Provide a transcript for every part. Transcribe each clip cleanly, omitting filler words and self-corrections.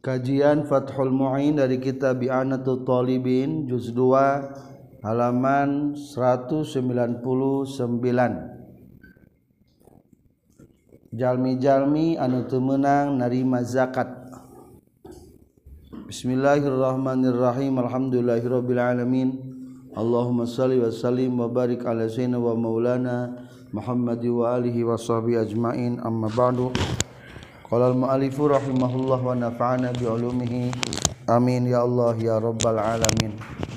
Kajian Fathul Mu'in dari kitab I'anatul Talibin juz 2 halaman 199. Jalmi-jalmi anu teu meunang narima zakat. Bismillahirrahmanirrahim. Alhamdulillahirabbil alamin. Allahumma shalli wa sallim wa barik ala sayyidina wa maulana Muhammad wa alihi wa sahbihi ajmain. Amma ba'du. Qala al-mu'allifu rahimahullah wa nafa'ana bi ulumihi amin ya Allah ya rabbal alamin.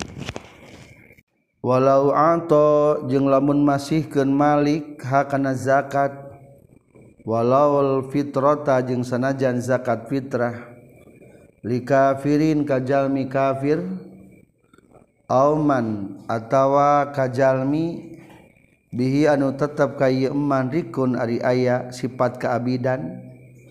Walau anta jeung lamun masihkeun malik hakana zakat, walau fitrata jeung sanajan zakat fitrah, li kafirin kajalmi kafir, auman atawa kajalmi bihi anu tetep ka ieu eman rikun ari aya sifat kaabidan,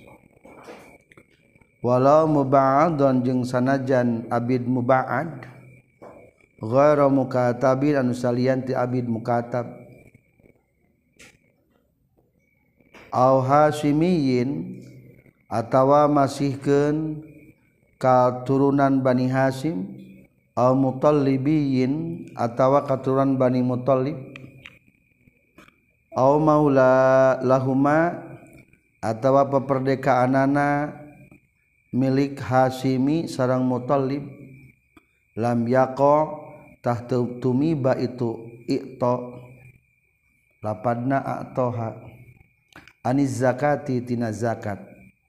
walau muba'adun jeung sanajan abid muba'ad, ghairu mukatabin anu salian ti abid mukatab, au hasimiyin atawa masihkeun katurunan Bani Hasim, au mutallibiyin atawa katurunan Bani Mutallib, au maula lahuma atawa peperdekaanana milik Hasimi sarang Mutallib, lam yaqa tah tumiba itu i'ta lapadna a'toha aniz zakati tina zakat,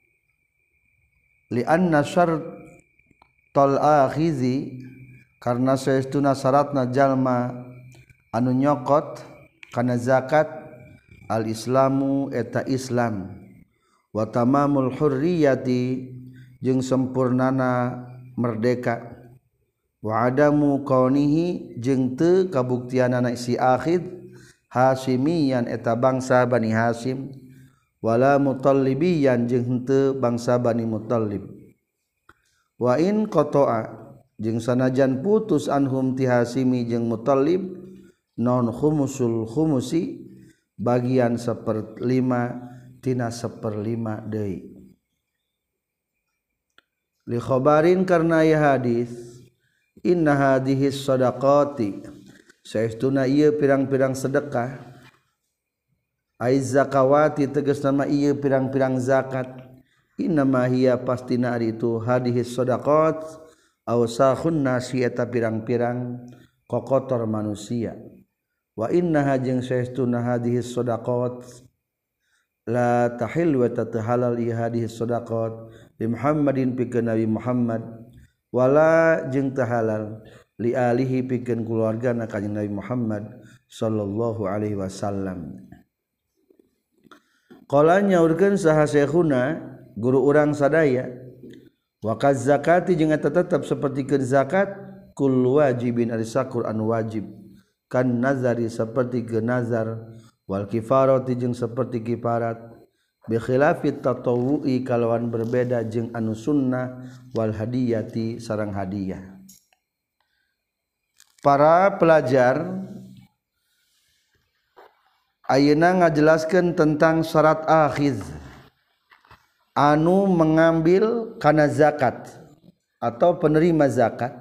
li anna syartal akhizi karna saestuna syaratna jalma anu nyokot kana zakat al islamu eta Islam, wa tamamul hurriyati jeung sempurnana merdeka, wa adamu kaunihi jeung teu kabuktianana si akhid hasimiyan eta bangsa Bani Hasim, wala mutallibiyan jeung henteu bangsa Bani Mutallib, wa in qata'a jeung sanajan putus anhum ti Hasimi jeung Mutallib non khumusul khumusi bagian 1/5 tina 1/5 deui. Li khabarin karna ya hadis, inna hadhihi shadaqati saestuna ieu pirang-pirang sedekah, aiz zakawati tegasna ma ieu pirang-pirang zakat, inna ma hiya pastina ari itu hadhihi shadaqat awsakhun nasi eta pirang-pirang kokotor manusia, wa innaha jeung saestuna hadhihi shadaqat la tahil wa tatahalal hadhihi shadaqat li Muhammadin pikeun Nabi Muhammad, wala jeung teu halal li alihi pikeun keluargana kanjing Nabi Muhammad sallallahu alaihi wasallam. Qala nyaurkeun saha syekhuna guru urang sadaya, wa kaz zakati jeung eta tetep sapertikeun zakat kullu wajibin ari sakur anu wajib, kan nazari sapertikeun nazar, wal kifarati jeung saperti kifarat, bi khilafit tatawu'i kalawan berbeda jeung anu sunnah, wal hadiyati sareng hadiah. Para pelajar ayeuna ngajelaskeun tentang syarat akhiz anu mengambil kana zakat atau penerima zakat.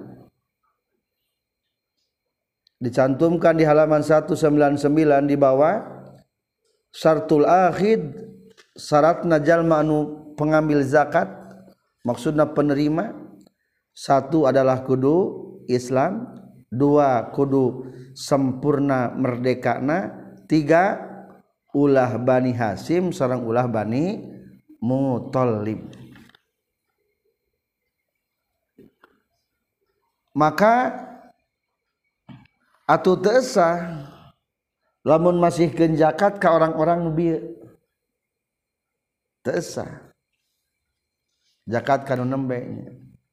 Dicantumkan di halaman 199 di bawah, syartul akhid syaratna jalma anu pengambil zakat, maksudna penerima, 1 adalah kudu Islam, 2 kudu sempurna merdekana, 3 ulah Bani Hasim sareng ulah Bani Mutallib. Maka atuh teu sah lamun masihkeun zakat ka orang-orang nu bieu, teu sah zakat ka nu nembe nya.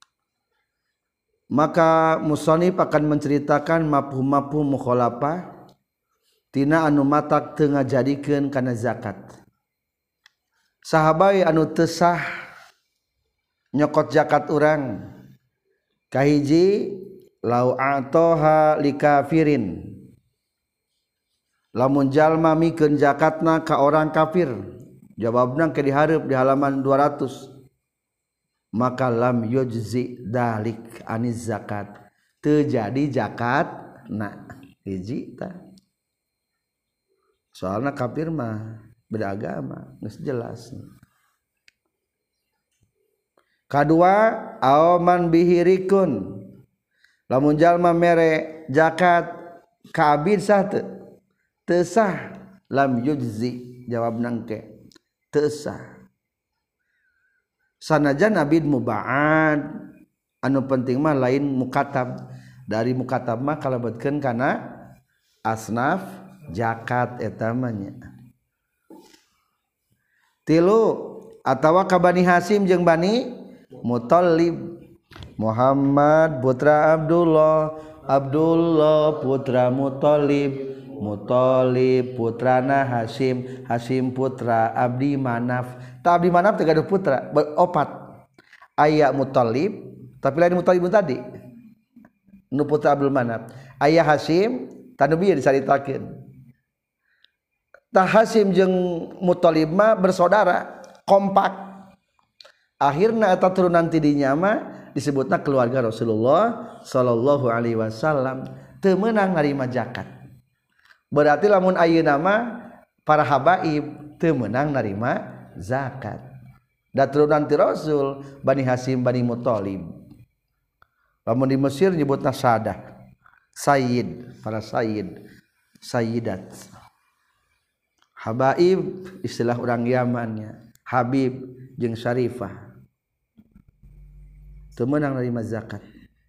Maka musannif akan menceritakan mafhum-mafhum mukhalafah tina anu matak teu ngajadikeun kana zakat. Saha bae anu teu sah nyokot zakat urang, kahiji lau a'toha li kafirin, lamun jalma mikeun zakatna ka orang kafir. Jawabna ke dihareup di halaman 200. maka lam yujzi dalik aniz zakat terjadi zakat na hiji tah soalna kafir mah beda agama geus jelas. Kadua aoman bihirikun lamun jalma mere zakat ka abid sah teu sah lam yujzi jawabna engke teu sah sanajan abid muba'ad anu penting mah lain mukatab dari mukatab mah kalebetkeun kana asnaf zakat eta mah nya. Tilu atawa ka Bani Hasyim jeung Bani Muthalib Muhammad putra Abdullah Abdullah putra Muthalib Muthalib putrana Hasyim Hasyim putra Abdi Manaf ta Abdi Manaf teh gaduh putra opat aya Muthalib tapi lain Muthalib tadi nu putra Abdul Manaf aya Hasyim tanu bieu dicaritakeun ta Hasyim jeung Muthalib mah bersaudara kompak akhirna eta turunan ti dinya mah disebutna keluarga Rasulullah sallallahu alaihi wasallam teu meunang narima zakat. Berarti lamun ayeuna mah para habaib teu meunang narima zakat. Da turunan ti Rasul Bani Hasyim Bani Muthalib. Lamun di Mesir nyebutna sadah. Sayyid, para sayyid, sayyidat. Habaib istilah orang Yamannya. Habib jeung Syarifah. Teu meunang narima zakat.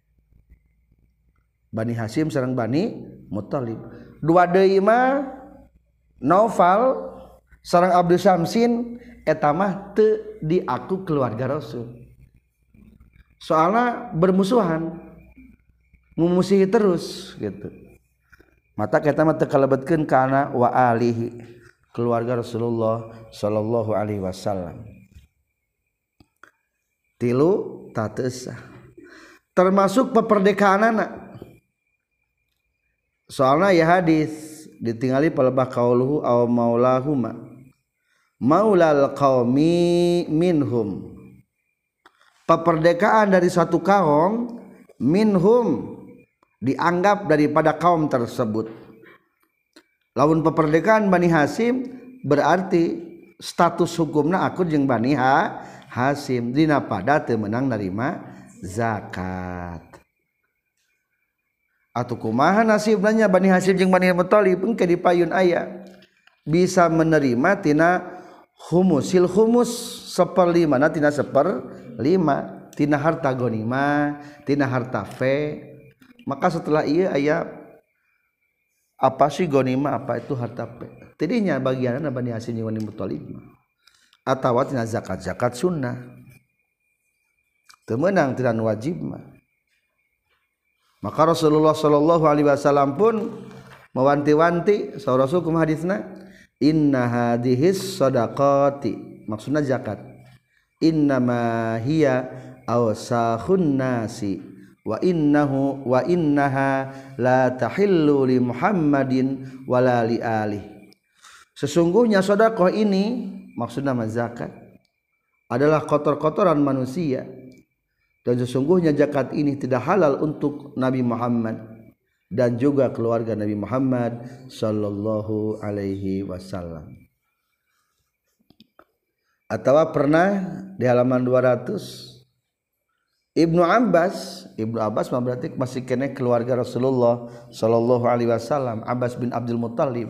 Bani Hasyim sareng Bani Muthalib. Dua deui mah Naufal sareng Abdul Syamsin eta mah teu diaku keluarga Rasul. Soalna bermusuhan. Mumusihi terus gitu. Mata kita mah teu kalebetkeun kana wa alihi keluarga Rasulullah sallallahu alaihi wasallam. Tilu tatesah termasuk peperdekaanana soalna ya hadis ditingali palebah qauluhu aw maulahuma maulal qaumi minhum peperdekaan dari satu kaum minhum dianggap daripada kaum tersebut. Lamun peperdekaan Bani Hasyim berarti status hukumna akur jeung Bani Hasyim dina pada teu meunang narima zakat. Atuh kumaha nasibna nya Bani Hasyim jeung Bani Muthalib engke dipayun aya bisa menerima tina humusil humus 1/5 tina 1/5 tina harta ghanimah tina harta fe. Maka setelah ieu aya apa sih ghanimah apa itu harta fe. Tidinya bagianna Bani Hasyim jeung Bani Muthalib atawa tina zakat sunnah teu meunang tina wajib mah. Maka Rasulullah sallallahu alaihi wasallam pun mewanti-wanti saur Rasul kumaha hadisna inna hadhis shadaqati maksudna zakat innama hiya awsahun nasi wa innaha la tahillu li Muhammadin wala li alihi. Sesungguhnya sedekah ini maksudnya zakat adalah kotor-kotoran manusia dan sesungguhnya zakat ini tidak halal untuk Nabi Muhammad dan juga keluarga Nabi Muhammad sallallahu alaihi wasallam. Atau pernah di halaman 200 Ibnu Abbas mah berarti masih kene keluarga Rasulullah sallallahu alaihi wasallam Abbas bin Abdul Muthalib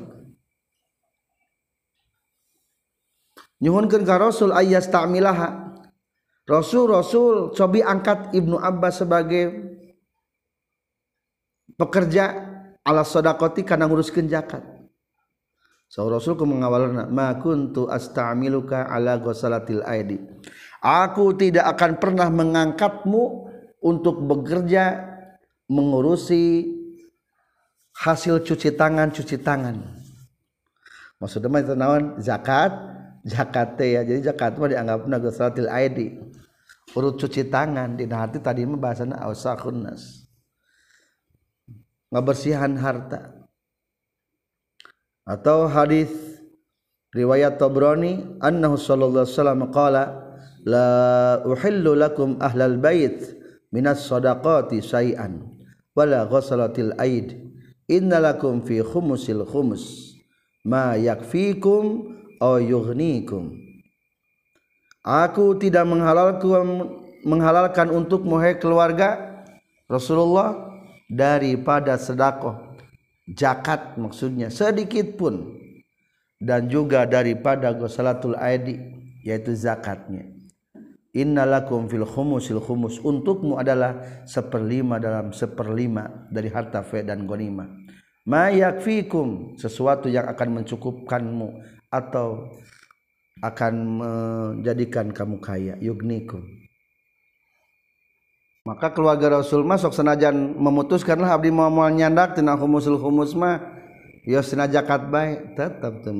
nyuhunkeun ka Rasul ayas ta'milaha Rasul cobi angkat Ibnu Abbas sebagai pekerja ala shadaqati kana nguruskeun zakat. Saur Rasul ku mengawalna ma kuntu asta'miluka ala ghusalatil aidi. Aku tidak akan pernah mengangkatmu untuk bekerja mengurusi hasil cuci tangan. Maksudnya mah itu naon zakat teh ya. Jadi zakat mah dianggapna ghusalatil aidi. Urut cuci tangan dina hati tadi mah bahasana awsaqun nas. Ngabersihan harta. Atau hadis riwayat Tabrani annahu sallallahu alaihi wasallam qala la uhillu lakum ahlal bait minas shadaqati syai'an wala ghasalatil aid innalakum fi khumusil khumus ma yakfikum aw yughnikum. Aku tidak menghalalkan untukmu hai keluarga Rasulullah daripada sedekah zakat maksudnya sedikit pun, dan juga daripada ghasalatul aidi yaitu zakatnya. Innalakum fil khumusil khumus, untukmu adalah 1/5 dalam 1/5 dari harta fe dan ghanimah. Ma yakfikum, sesuatu yang akan mencukupkanmu atau akan menjadikan kamu kaya, yugnikum. Maka keluarga Rasul masuk senajan memutuskanlah abdi moal nyandak tina khumusul khumus mah ya tina zakat bae tetap teu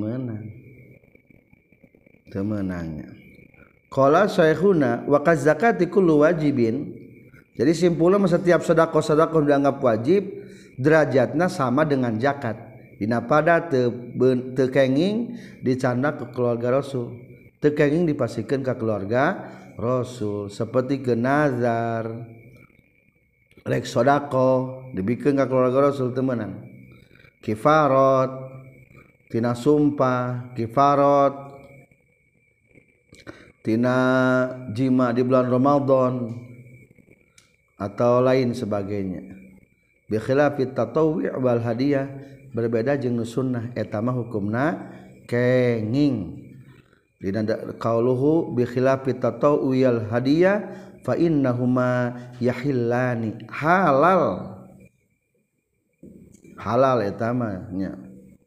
meunangnya. Qala syekhuna wa kaz zakati kullu wajibin. Jadi simpulnya setiap sedekah dianggap wajib, derajatna sama dengan zakat. Dina pada teu kenging dicandak ke keluarga Rasul, teu kenging dipasikeun ka keluarga Rasul, seperti ke nazar rek sedekah dibikeun ka keluarga Rasul teu meunang. Kifarat tina sumpah, kifarat tina jima di bulan Ramadan atau lain sebagainya. Bi khilafit tatawwu' wal hadiyah, berbeda jeung sunnah eta mah hukumna kenging. Dina qauluhu bi khilafit tatawwu' wal hadiyah fa innahuma yahillani, halal eta mah nya.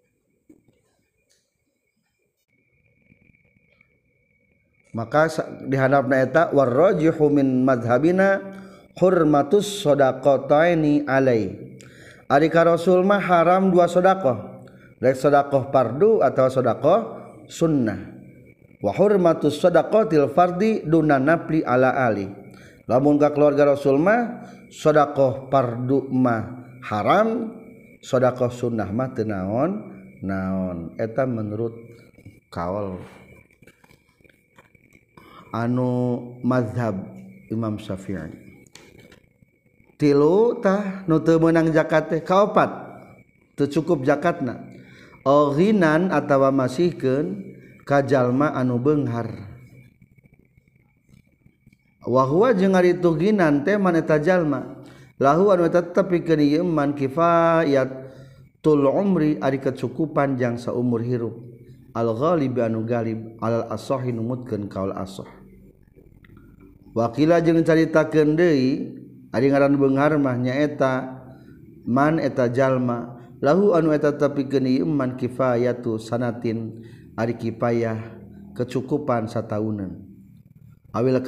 Maka di hadapna eta warrajihu min madhabina hurmatus shadaqataini alai. Ari ka Rasul mah haram 2 sedekah, rek sedekah fardu atau sedekah sunnah. Wa hurmatus shadaqatil fardi duna nafli ala ali. Lamun ka keluarga Rasul mah sedekah fardu mah haram, sedekah sunnah mah teu naon. Eta menurut kaul anu mazhab Imam Syafi'i. Tilu tah nu teu meunang zakat teh kaopat teu cukup zakatna, ghinan atawa masihkeun ka jalma anu beunghar. Wa huwa jeung ari tu ghinan teh man eta jalma lahu anu tetep pikeun ieu man kifayatul umri ari kecukupan jang saumur hirup, al ghalib anu galib alal ashah numutkeun kaul ashah. Wakila jeung caritakeun deui ari ngaran beunghar mah nyaeta man eta jalma lahu anu eta tepikeun ieu man kifayatu sanatin ari kipayah kecukupan sataunan. Awil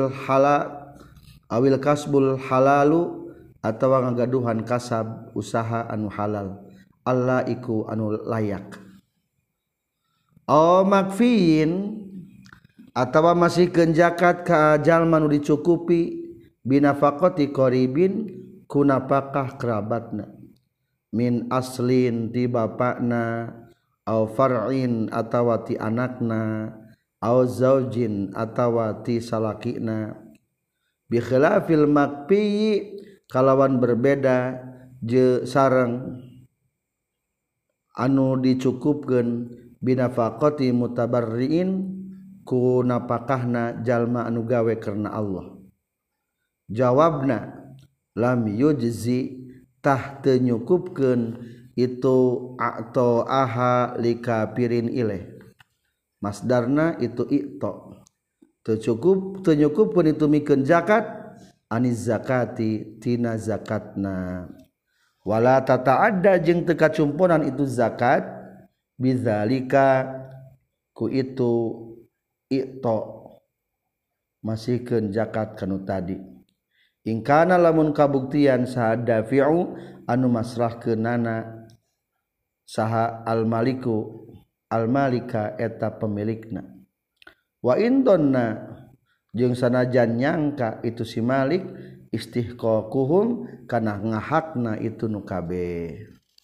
kasbul halalu atawa ngagaduhan kasab usaha anu halal, Allah iku anu layak. Makfiin atawa masihkeun zakat ka jalma nu dicukupi binafaqati qaribin ku nafkah kerabatna, min aslin ti bapakna, au far'in atawa ti anakna, au zaujin atawa ti salakina. Bi khilafil makfi kalawan berbeda je sareng anu dicukupkeun binafaqati mutabarriin ku napakahna jalma anu gawe karena Allah. Jawabna lam yujzi tah teu nyukupkeun itu atau aha likafirin ilaih, masdarna itu i'to teu nyukupkeun itu mikeun zakat aniz zakati tina zakatna. Wala tata'adda jeung teu kacumponan itu zakat bidzalika ku itu i'to masihkeun zakat kanu tadi. Ingkana lamun kabuktian saha fi'u anu masrahkeunana saha al-maliku al-malika eta pemilikna. Wa indonna jeung sanajan nyangka itu si malik istihqaquhum kana ngahakna itu nu kabeh.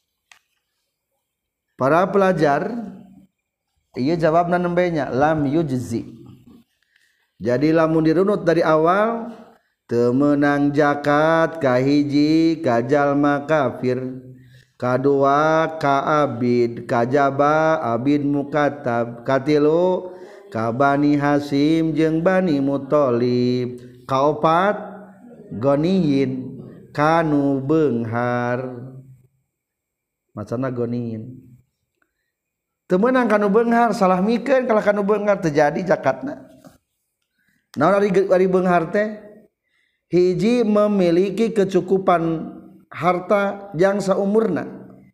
Para pelajar ieu jawabna nembenya lam yujzi. Jadi lamun dirunut dari awal teu meunang zakat ka hiji ka jalma kafir, kadua ka abid, kajaba abid mukatab, katilu ka Bani Hasyim jeung Bani Muthalib, kaopat goniyin kanu beunghar. Macana goniyin teu meunang kanu beunghar, salah mikeun kalau kanu beunghar terjadi zakatna. Naon ari beunghar teh? Hiji memiliki kecukupan harta jang saumurna.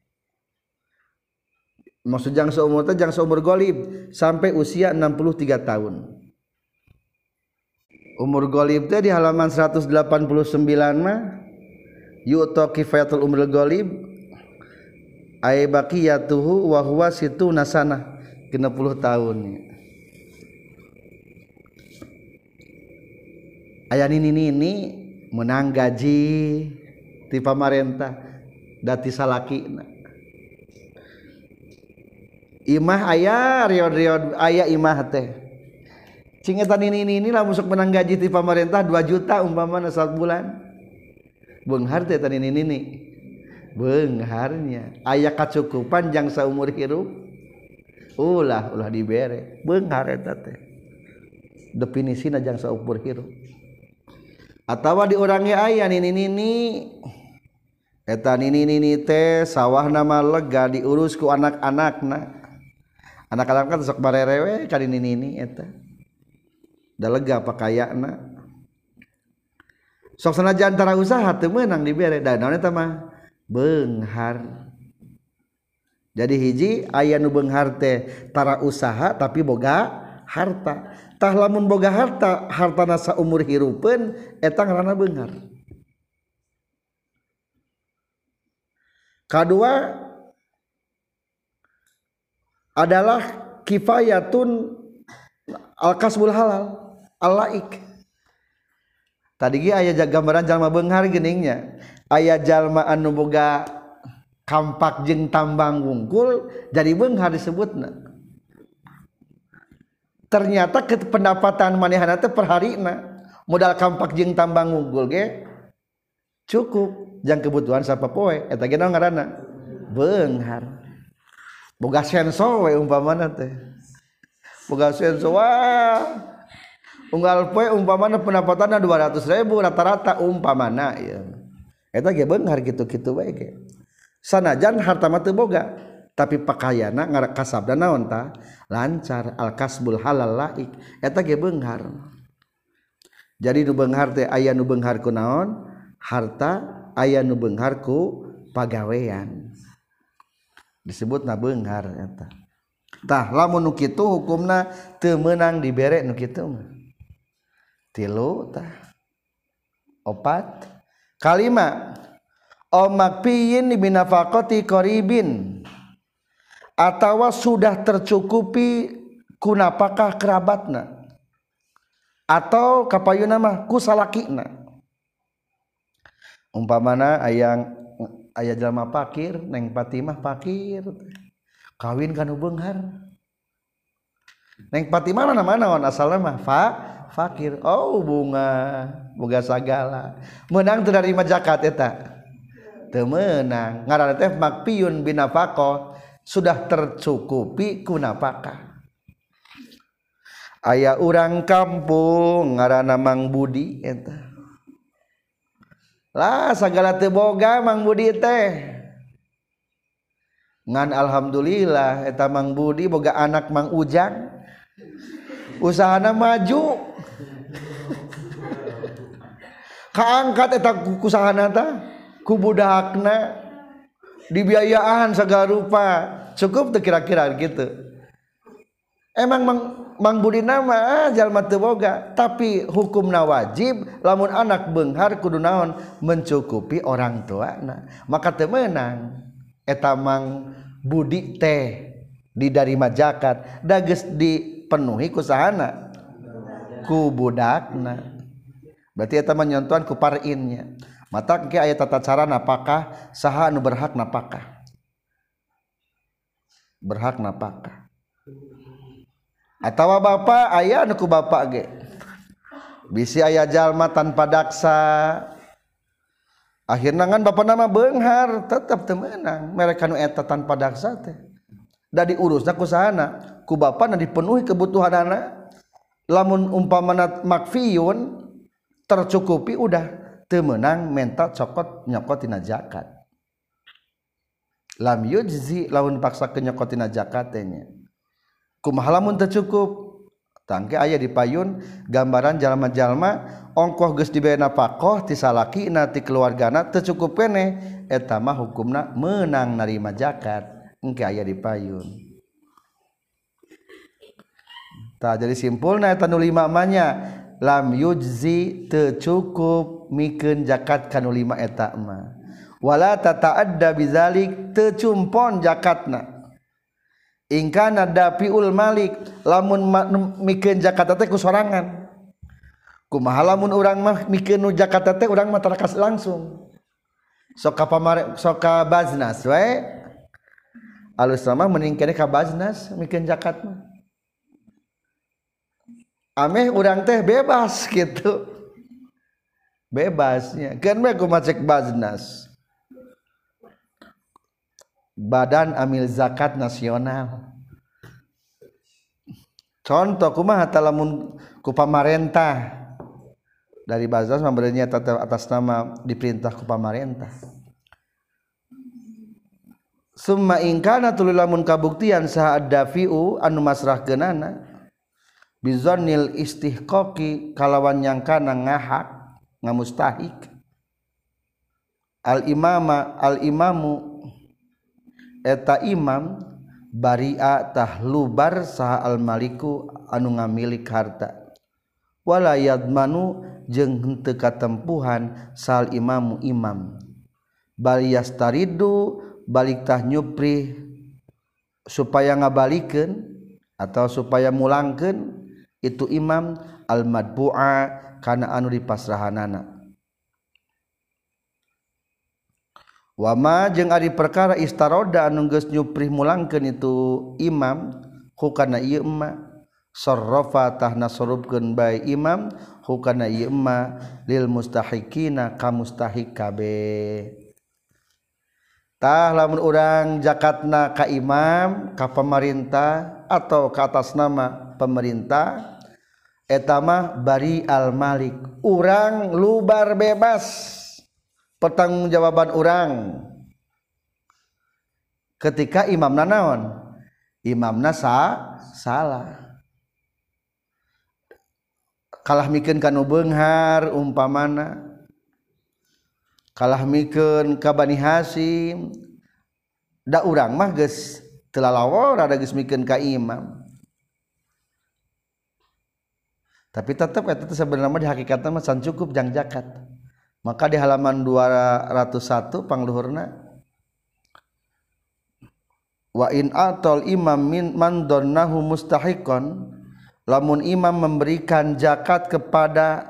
Maksud jang saumur teh jang saumur golib sampai usia 63 tahun. Umur golib teh di halaman 189 mah yu'ta kifayatul umrul golib ay baqiyatuhu wa huwa situna sanah 60 tahun. Aya nini menang gaji ti pamarentah da ti salakina. Imah aya riod-riod aya imah teh. Cing eta nini lah musuk menang gaji ti pamarentah 2 juta umpamana 1 bulan. Beunghar teh eta nini. Beungharnya aya kacukupan jang saumur hirup ulah dibere beunghar eta teh definisina jang saumur hirup atawa di urang ge aya nini eta nini teh sawahna mah lega diurus ku anak-anakna kan sok barerewe ka nini eta da lega pakayana sok sanajan tara usaha teu meunang dibere da naon eta mah beunghar. Jadi hiji aya nu beunghar teh tara usaha tapi boga harta. Tah lamun boga harta, hartana saumur hirupeun eta ngaranna beunghar. Kadua adalah kifayatun al-kasbul halal al-laik. Tadi ge aya gambaran jalma beunghar geuningnya. Aya jalma anu boga kampak jeung tambang wungkul jadi beunghar disebutna. Ternyata pendapatan manehna teh per harina modal kampak jeung tambang wungkul ge cukup jang kebutuhan sapopoe eta ge naon ngaranna beunghar. Boga senso we umpamana teh. Boga senso wah unggal poe umpamana pendapatanna 200.000 rata-rata umpamana ieu. Eta ge beunghar kitu-kitu bae ge. Sanajan harta mah teu boga, tapi pakayana kasabna naon tah? Lancar al-kasbul halal laik. Eta ge beunghar. Jadi nu beunghar teh aya nu beunghar ku naon? Harta, aya nu beunghar ku pagawean. Disebutna beunghar eta. Tah lamun nu kitu hukumna teu meunang dibere nu kitu mah. 3 tah. 4 kalima omakpiyin binafaqati qaribin atawa sudah tercukupi ku napakah kerabatna atau kapayuna mah ku salakina. Umpamana aya jalma fakir, Neng Fatimah fakir, kawin kanu beunghar. Neng Fatimah mana asalna mah fakir. Oh bunga boga sagala meunang teu narima zakat eta teu meunang ngaranna teh makpiyun binafaqah sudah tercukupi ku napakah. Aya urang kampung ngaranna Mang Budi eta lah sagala teu boga Mang Budi teh ngan alhamdulillah eta Mang Budi boga anak Mang Ujang usahana maju kaangkat eta kusahana tah ku budakna dibiayaan segala rupa cukup teu kira-kira gitu. Emang Mang Budi nama jalma teu boga tapi hukumna wajib lamun anak beunghar kudu naon mencukupi orang tuana maka teu meunang eta Mang Budi teh didarima zakat da geus dipenuhi ku sahana ku budakna. Berarti eta mah nyontohan ku parinnya. Mata ke aya tata cara napakah saha anu berhak napakah. Berhak napakah. Atawa bapa aya anu ku bapa ge. bisi aya jalma tanpa daksa akhirna ngan bapak nama beunghar tetep teu meunang mereka nu eta tanpa daksa teh da diurusna ku sahana ku bapana dipenuhi kebutuhanana lamun umpamana makfiyun tercukupi udah teu meunang menta cokot nyokotina zakat lam yujzi lamun paksa nyokotina zakat teh nya kumaha lamun teu cukup tangke aya di payun gambaran jalma-jalma ongkoh geus dibere nafkah ti salakina ti keluargana teu cukup keneh eta mah hukumna meunang narima zakat engke aya di payun. Tah jadi simpulna eta nu lima manya lam yujzi teu cukup mikeun zakat kanu lima eta mah wala tata'adda bizalik teu cumpon zakatna ingkana dafiul malik lamun mikeun zakat teh ku sorangan kumaha lamun urang mah mikeun zakat teh urang mah tarakas langsung sok ka baznas we alus mah mending keneh ka baznas mikeun zakat mah ameh urang teh bebas gitu bebasnya kan mah kumaha cek baznas Badan Amil Zakat Nasional contoh kumaha lamun ku pamarentah dari baznas memberinya atas nama diperintah ku pamarentah summa ingkana tuluy lamun kabuktian saha ad-dafi'u anu masrahkeunana bizannil istihqaqi kalawan nyangkana ngahak ngamustahik al-imamu eta imam bari'a tahlubar saha al-maliku anu ngamilik harta wala yadmanu jeung henteu katempuhan sal imamu imam bal yastaridu balik tah nyupri supaya ngabalikeun atau supaya mulangkeun itu imam al-madbu'a kana anu dipasrahanana wama jeung ari perkara istaroda anu geus nyuprih mulangkeun itu imam hukana ieu emma sarrafa tahna sorupkeun bae imam hukana ieu emma lil mustahiqina ka mustahik kabeh tah lamun urang zakatna ka imam ka pemerintah atau ka atas nama pemerintah eta mah bari al malik urang lubar bebas pertanggungjawaban urang ketika imamna naon imamna salah kalah mikeun kanu beunghar umpamana kalah mikeun ka Bani Hasyim da urang mah geus teu lalawor ada geus mikeun ka imam tapi tetep eta teh sabenerna mah di hakikatna mah can cukup jang zakat. Maka di halaman 201 pangluhurna wa in atal imam min man donnahu mustahiqan lamun imam memberikan zakat kepada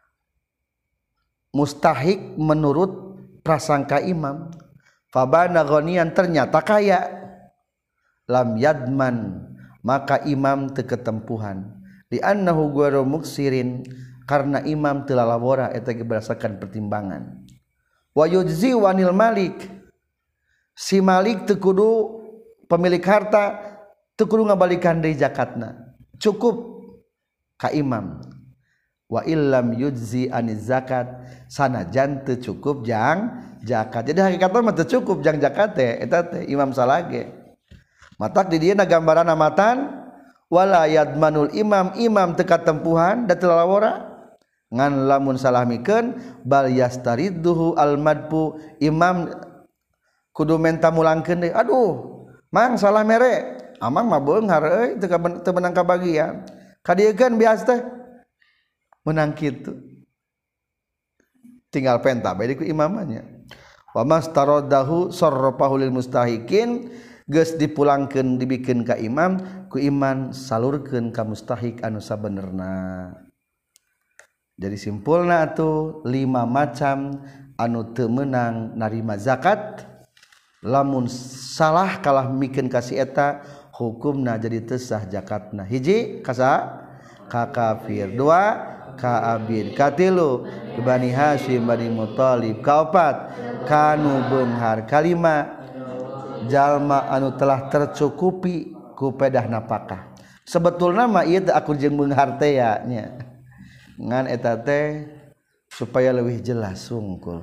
mustahik menurut prasangka imam fabana ghaniyan ternyata kaya lam yadman maka imam teu ketempuhan li annahu ghairu muksirin karena imam telah labora eta berdasarkan pertimbangan wa yujzi wanil malik si malik teu kudu pemilik harta teu kudu ngabalikan deui zakatna cukup ka imam wa illam yujzi aniz zakat sanajan teu cukup jang zakat jadi hakikatna mah teu cukup jang zakat teh eta teh imam salage matak di dieu gambaran amatan wala yadmanul imam teu katempuhan da teu lalawora ngan lamun salah mikeun bal yastariduhu almadbu imam kudu menta mulangkeun deui aduh mang salah mere amang mah beunghar euy teu menang kabagian kadiekeun bias teh menang kitu tinggal penta bae ku imamannya wa mastaradahu sarrafahu lil mustahiqin geus dipulangkeun dibikeun ka imam ku iman salurkeun ka mustahik anu sabenerna. Jadi simpulna atuh 5 macam anu teu meunang narima zakat lamun salah kalah mikeun ka si eta hukumna jadi teu sah zakatna hiji kasa ka kafir dua Ka'abin. Katilu Bani Hasyim Bani Muthalib. Kaopat kanu beunghar. Kalima jalma anu telah tercukupi ku pedah napakah. Sebetulna mah ieu teh aku jeung beunghar teh nya. Ngan eta teh supaya lebih jelas sungkul.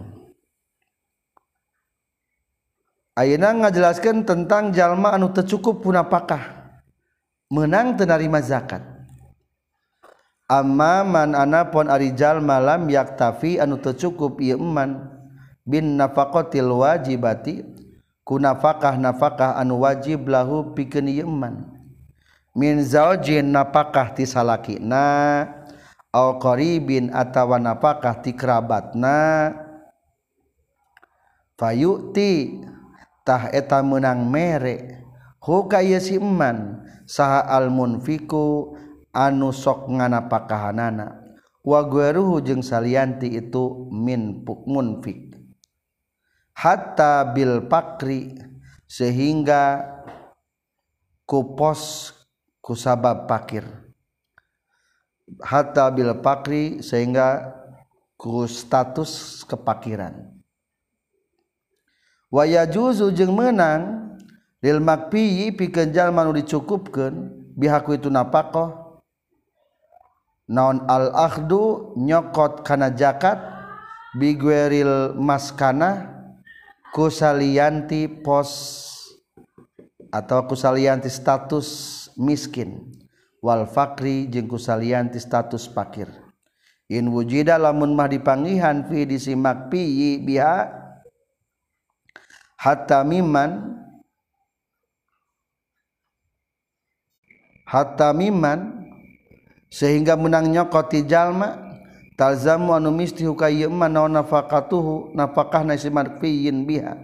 Ayeuna ngajelaskeun tentang jalma anu teu cukup ku napakah. Meunang teu narima zakat. Amma man anapun ari jalma lam yaktafi anu teu cukup ieu eman bin nafaqatil wajibati ku nafakah anu wajib lahu pikeun ieu eman. Min zaujin napakah ti salakina au qaribin atawa napakah ti kerabatna fayu'ti tah eta meunang mere hu ka ieu si eman saha al munfiku anu sok nganapakahanana wa gueruhu jeung salianti itu min munfik hatta bil pakri sehingga kupos kusabab pakir hatta bil pakri sehingga ku status kepakiran wa yajuzu jeung meunang lil makfi pikeun jalma nu dicukupkeun bihaku itu napaqah naon al akhdu nyokot kana zakat bi gueril maskana kusalianti pos atau kusalianti status miskin wal fakri jeung kusalianti status fakir in wujida lamun mah dipanggihan fi disimak pi biha hatta miman sehingga menang nyokoti jalma talzamu anu misti hukayy man naon nafaqatuhu nafaqahna si marfiyin biha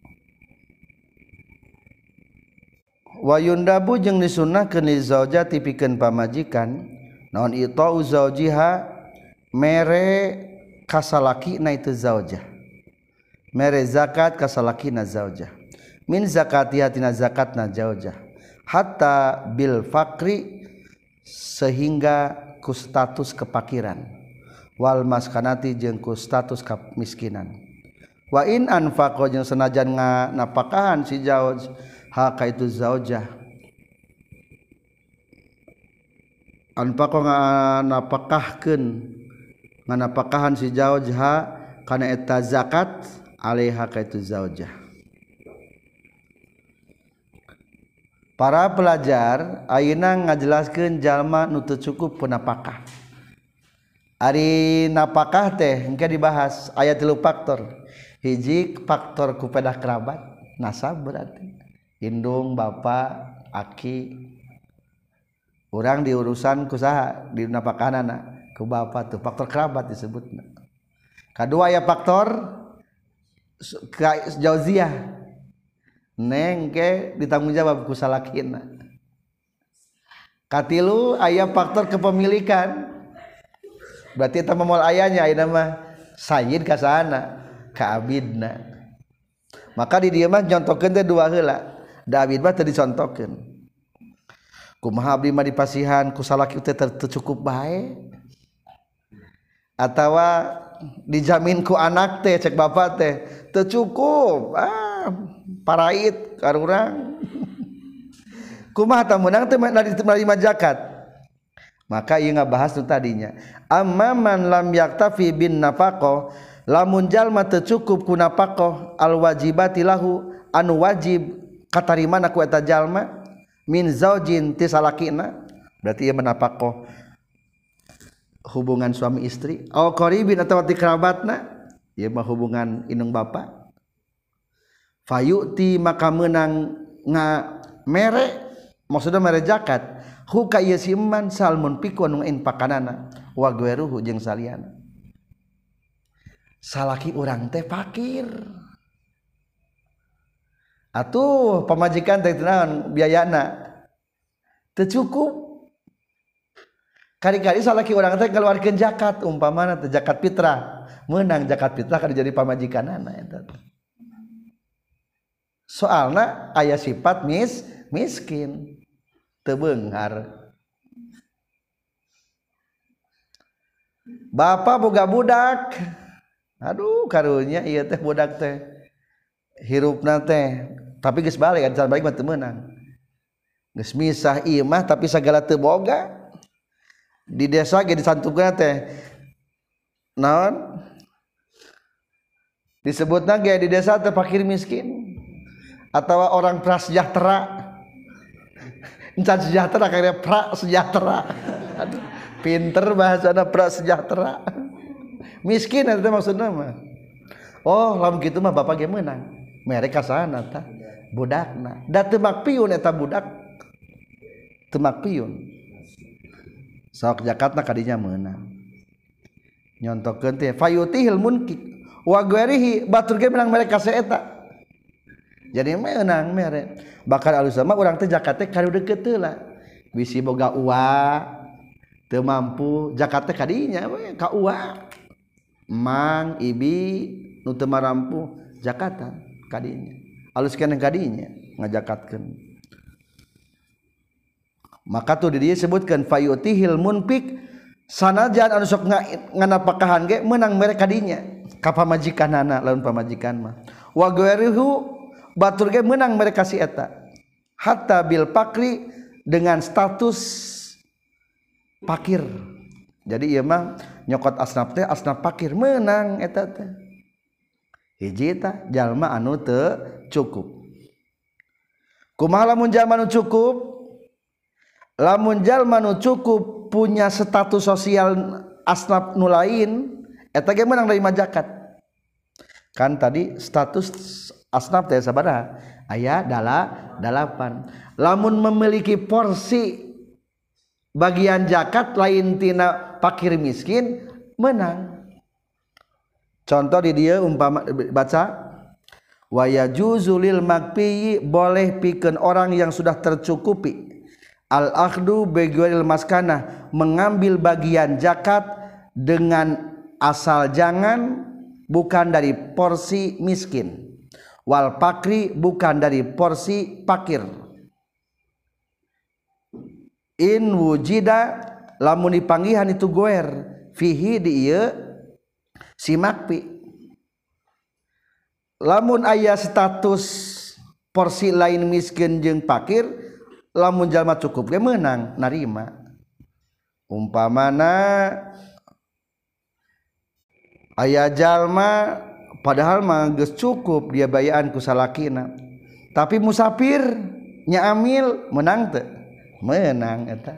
wa yundabu jeung disunnahkeun li zaujati pikeun pamajikan naon itau zaujiha mere kasalakina itu zaujah mere zakat kasalakina zaujah min zakatiha tina zakatna zaujah hatta bil fakri sehingga ku status kepakiran wal maskanati jeung ku status kemiskinan wa in anfaqo jeung senajan nganapakahan si zauj ha ka itu zaujah anfaqo nganapakahkeun nganapakahan si zauj ha kana eta zakat alaiha ka itu zaujah. Para pelajar ayeuna ngajelaskeun jalma nu teu cukup punapakah. Ari napakah teh engke dibahas aya 3 faktor. Hiji faktor ku pedah kerabat, nasab berarti. Indung, bapa, aki. Urang diurusan ku saha? Di napakahanana ku bapa tuh faktor kerabat disebutna. Kadua aya faktor jauziyah. Neng ke ditanggung jawab ku salakina. Katilu aya faktor kepemilikan. Berarti eta moal ayanya ayeuna mah sayyid ka sana ka abidna. Maka di dieu mah nyontokeun teh 2 heula. Da abid mah teu dicontokeun. Kumaha abdi mah dipasihan ku salaki teh teu cukup bae. Atawa dijamin ku anak teh cek bapa teh teu cukup. Parait karurang kumaha tah meunang teh menerima zakat maka ieu ngabahas nu tadinya amma man lam yaktafi bin nafaqah lamun jalma teu cukup ku nafaqah al wajibati lahu anu wajib katarimana ku eta jalma min zaujin ti salakina berarti ieu menafaqah hubungan suami istri au qaribin atawa ti kerabatna ieu mah hubungan indung bapa fayu'ti maka menang mere maksudna mere zakat hu ka ieu si eman salmun piku anu inpakanana wa gueruhu jeung saliana salaki urang teh fakir atuh pamajikan teh naon biayana teu cukup kali-kali salaki urang teh keluarkeun zakat umpamana teh zakat fitrah meunang zakat fitrah ka jadi pamajikanana eta soalna aya sifat miskin teu beunghar Bapak boga budak, aduh karunya iya teh budak teh hirupna teh tapi geus balik can balik mah teu meunang geus misah ieu mah tapi sagala teu boga di desa ge disantupkeun teh naon disebutna ge di desa teh fakir miskin atawa orang prasejahtera encan sejahtera kaya prasejahtera aduh pinter bahasana prasejahtera miskin eta maksudna mah oh lamun kitu mah bapak ge meunang mere kasana tah budakna da teu makpiun eta budak teu makpiun sok zakatna kadinya meunang nyontokeun teh fayutihil munkik wa ghairihi batur ge menang mere ka eta jadi meunang mere bakal alus mah urang teh zakat teh kadeukeut teu lah bisi boga uang teu mampu zakat teh kadinya we ka uang mang ibi nu teu marampu zakatan kadinya aluskeun kadinya ngajakatkeun maka tuh di dieu sebutkeun fayutihil munfik sanajan anu sok nganapakahan ge meunang mere kadinya ka pamajikanana lamun pamajikan mah wa ghairuhu batur ge meunang mere ka si eta hatta bil pakri dengan status pakir jadi ieu mah nyokot asnaf teh asnaf pakir meunang eta teh hiji tah jalma anu teu cukup kumaha lamun jalma anu cukup lamun jalma anu cukup punya status sosial asnaf nu lain eta ge meunang nerima zakat kan tadi status asnaf teh sabaraha aya 8 lamun memiliki porsi bagian zakat lain tina fakir miskin menang contoh di dia umpama baca wa yajuzu lil makfi boleh pikeun orang yang sudah tercukupi al akhdu bighairil maskanah mengambil bagian zakat dengan asal jangan bukan dari porsi miskin wal pakri bukan dari porsi pakir in wujida lamun dipanggihan itu goer fihi di ieu si makpi lamun aya status porsi lain miskin jeung pakir lamun jalma cukup ge meunang narima umpamana aya jalma padahal mah geus cukup dia bayaan ku salakina tapi musafir nya amil meunang teu meunang eta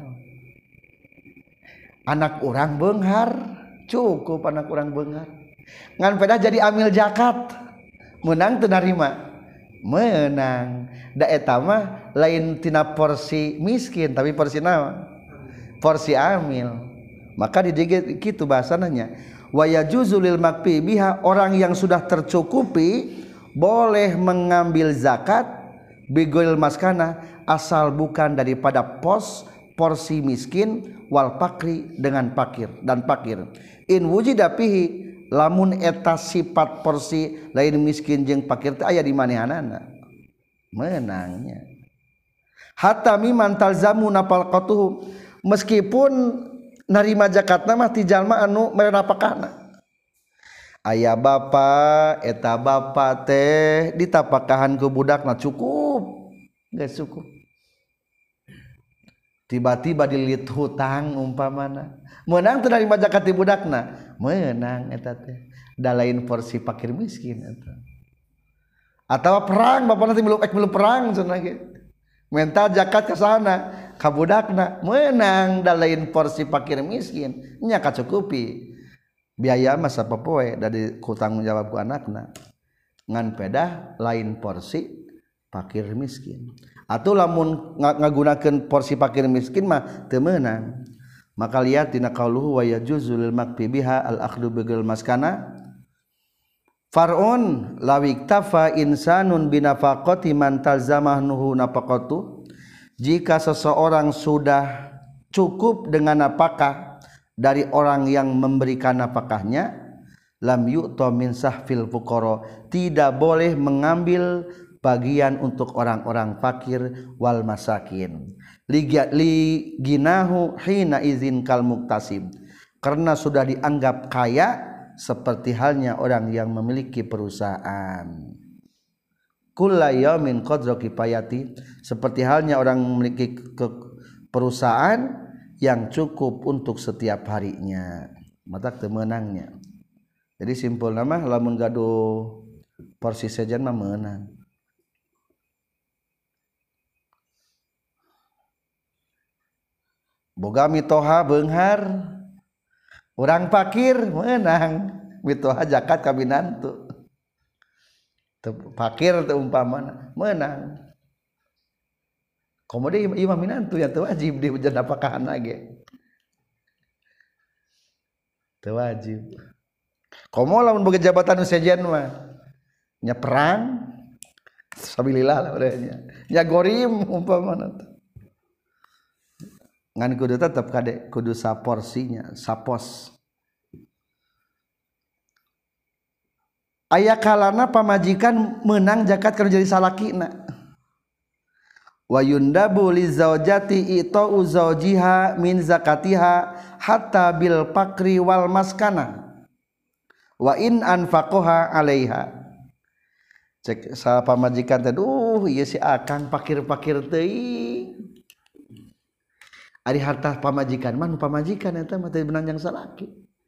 anak urang beunghar cukup anak urang beunghar ngan pedah jadi amil zakat meunang teu narima meunang da eta mah lain tina porsi miskin tapi porsi naon porsi amil maka di dieu kitu bahasana nya wa yajuzu lil makfi biha orang yang sudah tercukupi boleh mengambil zakat bighairil maskana asal bukan daripada porsi miskin wal pakri dengan pakir dan pakir in wujida fihi lamun eta sifat porsi lain miskin jeung pakir teh aya di manehanana menangnya hatta miman talzamu nafaqatuhu meskipun narima zakatna mah ti jalma anu mere napakahna aya bapa eta bapa teh ditapakahan ku budakna cukup geus cukup tiba-tiba dililit hutang umpamana meunang teu narima zakat ti budakna meunang eta teh da lain porsi fakir miskin eta atawa perang bapana teh milu perang cenah ge minta zakat ka sana ka budakna meunang da lain porsi fakir miskin nya kacukupi biaya mah sapopoe dari hutang jawab ku anakna ngan pedah lain porsi fakir miskin atuh lamun ngagunakeun porsi fakir miskin mah teu meunang maka lihat dina qauluhu wa yajuzul makfi biha al akhdu bighairil maskana far'un lawiktafa insanun binafaqati man talzamahu nafaqatu jika seseorang sudah cukup dengan nafkah dari orang yang memberikan nafkahnya lam yu'ta min sahfil fuqara tidak boleh mengambil bagian untuk orang-orang fakir wal masakin li ginahu hina izin kal muktasib karena sudah dianggap kaya seperti halnya orang yang memiliki perusahaan. Kulla yaumin qadra kifayati, seperti halnya orang memiliki perusahaan yang cukup untuk setiap harinya. Mata temenangnya. Jadi simpul nama lamun gaduh porsi sejen mah meunang. Boga mitoha beunghar urang fakir meunang mitoha zakat ka binantu. Fakir teu umpamana meunang. Komode imam minantu ya teu wajib di hujan apakahana ge. Teu wajib. Komo lamun boga jabatan nu sejen mah nya perang sabilillah lah urangnya. Nya gorim umpamana teh. Ngan kudu tetep kade kudu saporsinya, sapos. Aya kalana pamajikan meunang zakat kana jadi salakina. Wa yundabu li zaujati ita'u zaujiha min zakatiha hatta bil fakri wal maskana wa in anfaqaha 'alaiha. Cek salah pamajikan teh ieu si akang fakir-fakir teuing. Ari harta pamajikan mah nu pamajikan eta mah teh benanjang salaki.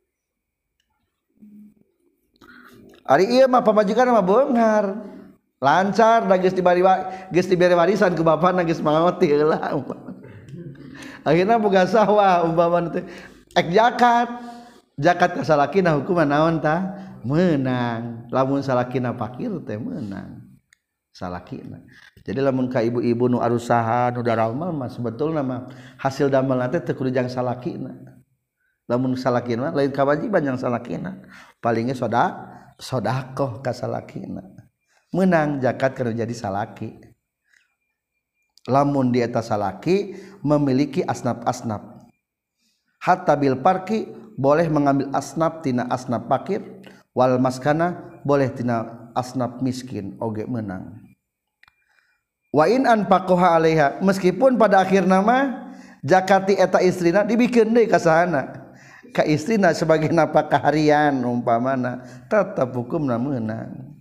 Ari ieu mah pamajikan mah beunghar. Lancar da geus dibere warisan ku bapana geus mangoti heula umpama. Akhirna boga sawah umpama teh ek zakat. Zakat ka salakina hukuman naon tah? Meunang. Lamun salakina fakir teh meunang. Salakina. Jadi lamun ka ibu-ibu nu arusaha nu daramal mah sebetulna mah hasil damal teh teu kudu jang salakina. Lamun salakina lain kawajiban jang salakina. Palingnya sedekah ka salakina. Meunang zakat kana jadi salaki. Lamun di eta salaki memiliki asnaf-asnaf. Hatta bil parki boleh mengambil asnaf tina asnaf fakir wal maskana boleh tina asnaf miskin oge meunang. Wa in anfaqaha 'alaiha, meskipun pada akhirna mah zakati eta istrina dibikeun deui ka sahana ka istrina sebagai nafkah harian umpamana tetep hukumna meunang.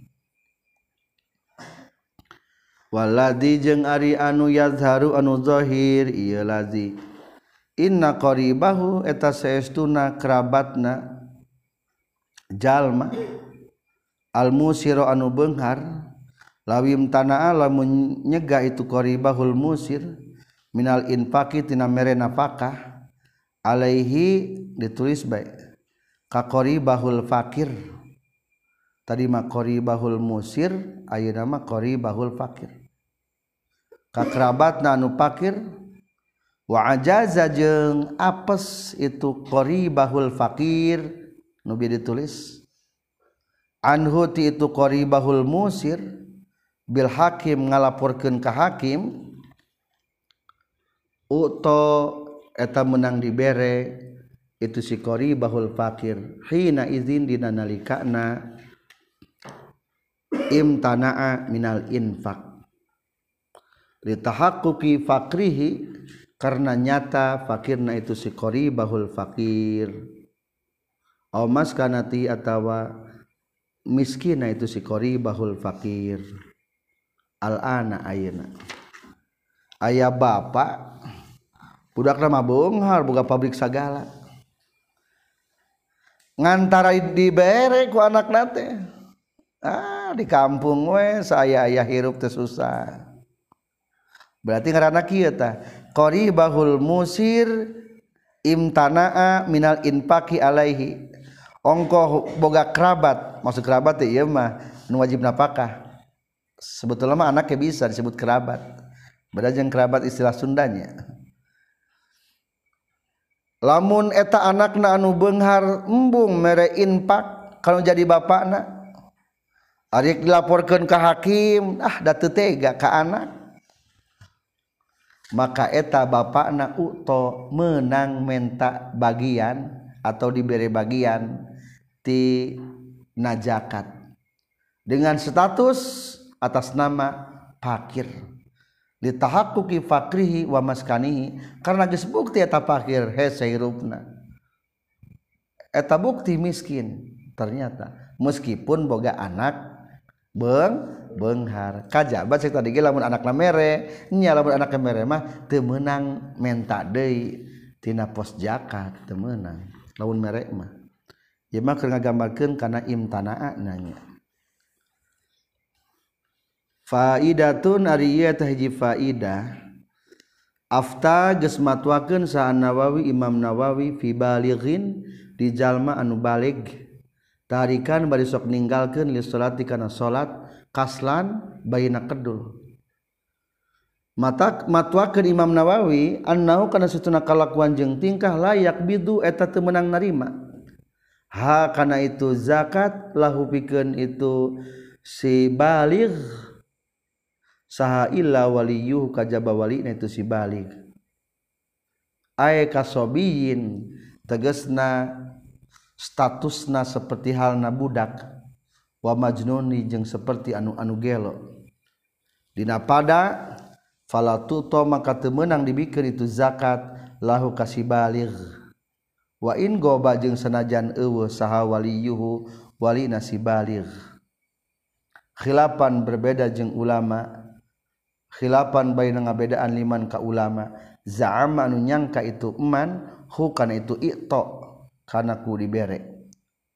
Waladi jeung ari anu yazharu anu zahir ieu lazi inna qaribahu eta saestuna kerabatna jalma al musira anu beunghar lawim tanaa lamun nyegah itu qaribahul musir minal infaqi tina mere nafkah alaihi ditulis bae ka qaribahul fakir tadi mah qaribahul musir ayeuna mah qaribahul fakir ka kerabatna anu fakir wa ajaza jeung apes itu qaribahul fakir nu bi ditulis anhu ti itu qaribahul musir bil hakim ngalaporkeun ka hakim uto eta menang dibere itu si qaribahul fakir hina izin dina nalikana imtanaa minal infaq li tahaqquqi fakrihi karena nyata fakirna itu si qaribahul fakir aw maskanati atawa miskina itu si qaribahul fakir. Al-ana ayeuna aya bapak budakna mah beunghar boga pabrik sagala ngantara dibere ku anakna teh di kampung we saya aya hirup teh susah. Berarti ngaranna kieu tah qaribahul musir imtanaa minal infaqi alaihi ongko boga kerabat maksud kerabat teh ieu mah nu wajib nafkah. Sebetulnya mah anaknya bisa disebut kerabat. Beda jeung kerabat istilah Sundanya. Lamun eta anakna anu beunghar embung mere infak kalau jadi bapakna ari dilaporkeun ka hakim da teu tega ka anak maka eta bapakna uto meunang menta bagian atau diberi bagian ti najakat dengan status atas nama fakir litahaqquqi fakrihi wa maskanihi karena geus bukti eta fakir hese hirupna eta bukti miskin ternyata meskipun boga anak beunghar kajaba cek tadi ge lamun anakna mere nya lamun anakna mere mah teu meunang menta deui tina pos zakat teu meunang lamun mere mah ieu mah keur ngagambarkeun kana imtanaa nanya faidatun ari ieu teh hiji faidah afta geus matwakeun sa Nawawi Imam Nawawi fi balighin di jalma anu balig tarikan bari sok ninggalkeun li salati kana salat kaslan baina kedul matwakeun Imam Nawawi annahu kana satuna kalakuan jeung tingkah layak bidu eta teu meunang narima ha kana itu zakat lahu pikeun itu si baligh saha illa waliyuh kajaba walina itu si baligh ay kasobiyin tegasna statusna seperti halna budak wa majnuni jeung seperti anu gelo dina pada falatuto maka teu meunang dibikeun itu zakat lahu kasibaligh wa in goba jeung sanajan eueuh saha waliyuhu walina si baligh khilafan berbeda jeung ulama khilafan baina ngabedaan liman ka ulama za'ama anu nyangka itu eman hu kana itu i'ta kana ku dibere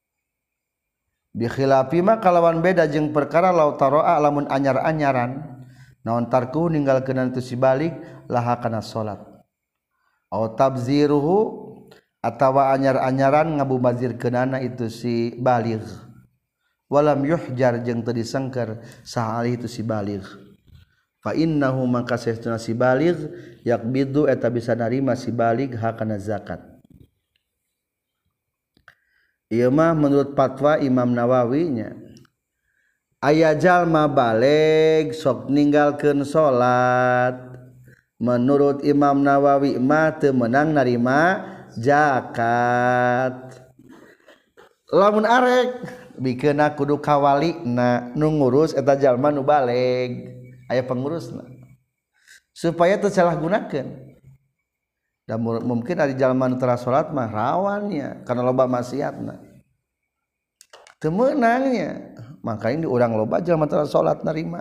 bi khilafi ma kalawan beda jeung perkara law taraa lamun anyar-anyaran naon tarku ninggalkeun itu si balik laha kana salat aw tabziruhu atawa anyar-anyaran ngabubazirkeunana itu si baligh walam yuhjar jeung teu disengker saha alih itu si baligh fa innahu maka saestuna si baligh yakbidu eta bisa narima si baligh hakana zakat. Ieu mah menurut fatwa Imam Nawawi nya aya jalma baleg sok ninggalkeun salat menurut Imam Nawawi mah teu meunang narima zakat lamun arek bikeunna kudu kawalina nu ngurus eta jalma nu baleg aya pengurusna supaya teu salahgunakeun dan mungkin ada jalma nu tara salat mah rawannya karena loba maksiatna teu meunangnya makanya di urang loba jalma tara salat narima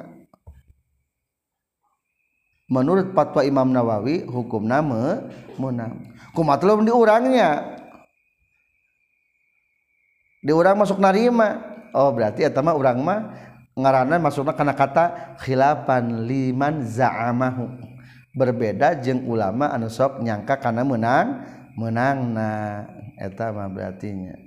menurut fatwa Imam Nawawi hukumna meunang kumaha teu di urangnya di urang masuk narima oh berarti eta mah urang mah ngaranna masukna kana kata khilafan liman za'amahu berbeda jeung ulama anu sok nyangka kana meunangna eta mah berarti nya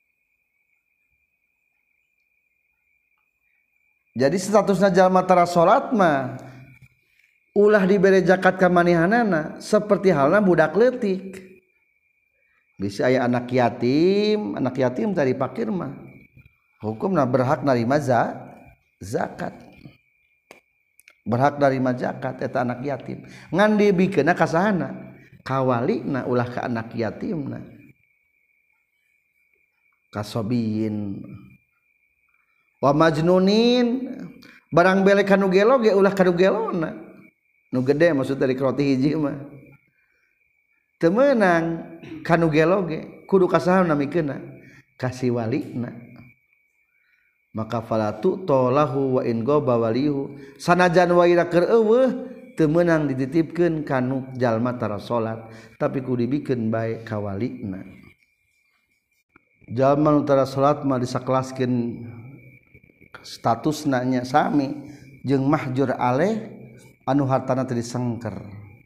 jadi statusna jalma tara salat mah ulah dibere zakat ka manehanana seperti halna budak leutik bisa aya anak yatim tadi fakir mah hukumna berhak narima zakat berhak narima zakat eta anak yatim ngan dibikeunna ka sahana kawalina ulah ka anak yatimna kasobiyin wa majnunin barang belek kanu gelo ge ulah kanu gelona nu gede maksud dari roti hiji mah teu meunang kanu gelo ge kudu ka sahana mikeunna kasih walina maka falatu tolahu wa in goba walihu sanajan waira keur eueuh teu meunang dititipkeun kanu jalma tara salat tapi kudu dibikeun bae ka walina jalma nu tara salat mah disakelaskeun statusna nya sami jeung mahjur aleh anu hartana teu disengker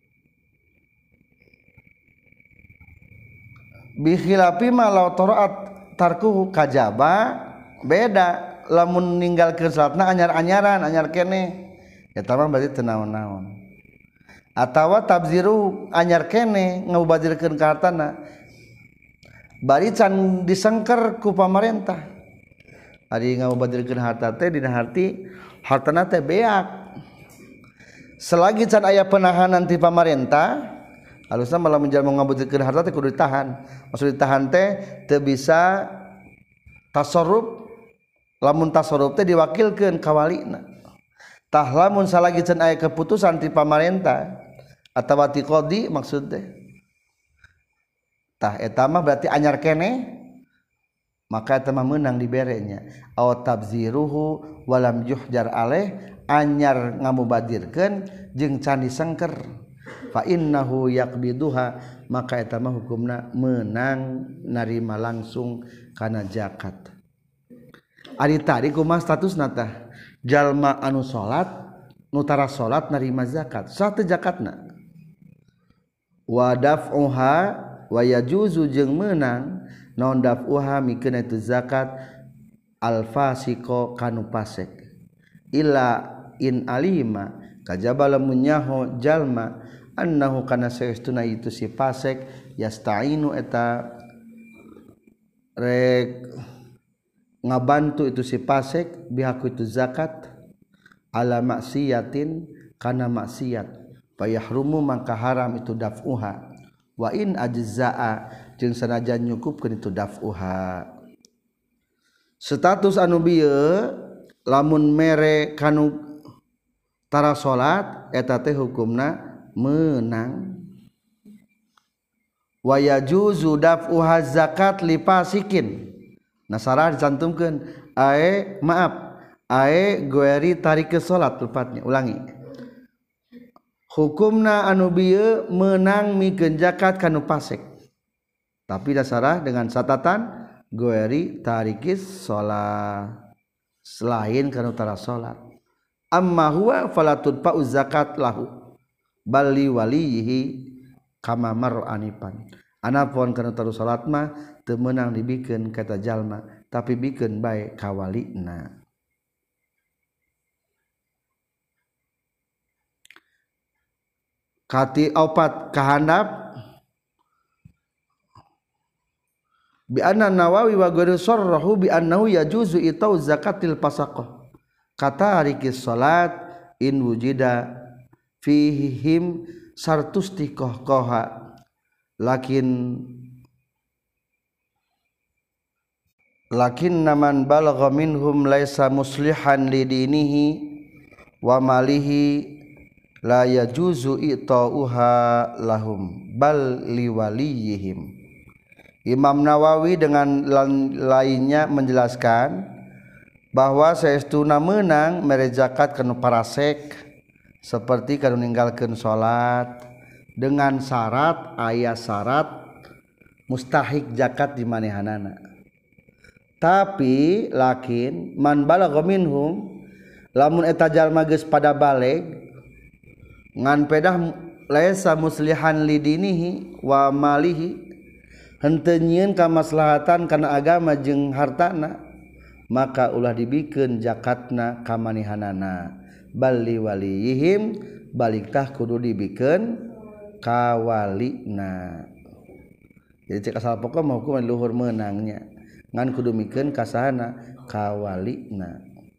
bi khilafi ma law taraat tarkuhu kajaba beda lamun ninggalkeun salatna anyar-anyaran anyar keneh eta mah berarti teu naon-naon atawa tabziru anyar keneh ngabazirkeun ka hartana bari can disengker ku pamarentah ari ngabazirkeun harta teh dina arti hartana teh beak selagi can aya penahanan ti pamarentah halusna lamun jalma ngabazirkeun harta teh kudu ditahan maksud ditahan teh teu bisa tasarruf lamun tasarruf teh diwakilkeun ka walina tah lamun salagi can aya keputusan ti pamarentah atawa ti qadi maksud teh tah eta mah berarti anyar keneh maka eta mah meunang diberenya aw tabziruhu walam yuhjar alaih anyar ngamubadirkeun jeung can disengker fa innahu yaqbiduha maka eta mah hukumna meunang narima langsung kana zakat. Ari tadi kumaha statusna tah jalma anu salat nu tara salat narima zakat sah teu zakatna wa daf'uha wa yajuzu jeung meunang naon daf'uha mikeun itu zakat al fasiqo kanu fasik illa in alima kajaba lamun nyaho jalma annahu kana saestuna itu si fasik yasta'inu eta rek ngabantu itu si fasik bihaku itu zakat ala maksiatin kana maksiat fayahrumu maka haram itu daf'uha wa in ajza'a jeung sanajan nyukupkeun itu daf'uha. Status anu bieu lamun mere kanu tara salat eta teh hukumna meunang wa yajuzu daf'uha zakat li fasikin nasara dicantumkeun ae goeri tarik ke salat tepatnya ulangi hukumna anu bieu meunang mikeun zakat kanu fasik tapi dasarah dengan catatan goeri tarikis sholat selain kanu tara sholat amma huwa falatud pa'u zakat lahu bali walihi kama mar anipan anapun kanu tara sholat mah teu meunang dibikeun kata jalma tapi bikeun bae ka walina. Kati opat kahandap bi anna Nawawi wa ghairu sarrahu bi annahu yajuzu itau zakatil fasaqah kata rikis salat in wujida fihim sartustiqoha lakin naman balagha minhum laisa muslihan lidinihi wa malihi la yajuzu itauha lahum bal liwaliyihim. Imam Nawawi dengan lainnya menjelaskan bahwa saestuna meunang mere zakat kanu parasek seperti kanu ninggalkeun salat dengan syarat aya syarat mustahik zakat di manehanana. Tapi lakin man balagha minhum lamun eta jalma geus pada baleg ngan pedah laisa muslihan lidinihi wa malihi henteu nyieun kamaslahatan kana agama jeung hartana maka ulah dibikeun zakatna ka manehanana bali waliyihim balik tah kudu dibikeun ka walina. Jadi cek asal pokok mah hukum luhur meunangnya ngan kudu mikeun ka sahana ka walina.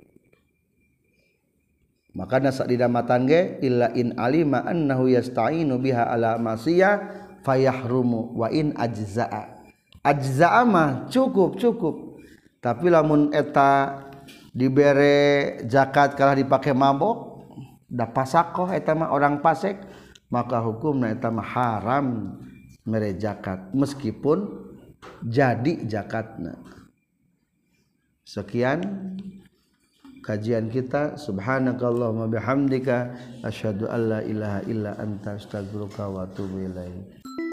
Makana sadidamatan ge illa in alima annahu yasta'inu biha ala masiyah fayahrumu wa in ajza'a mah cukup tapi lamun eta dibere zakat kalah dipake mabok da pasakoh eta mah orang fasik maka hukumna eta mah haram mere zakat meskipun jadi zakatna. Sekian kajian kita. Subhanakallahumma bihamdika asyhadu an la ilaha illa anta astaghfiruka wa atubu ilaik.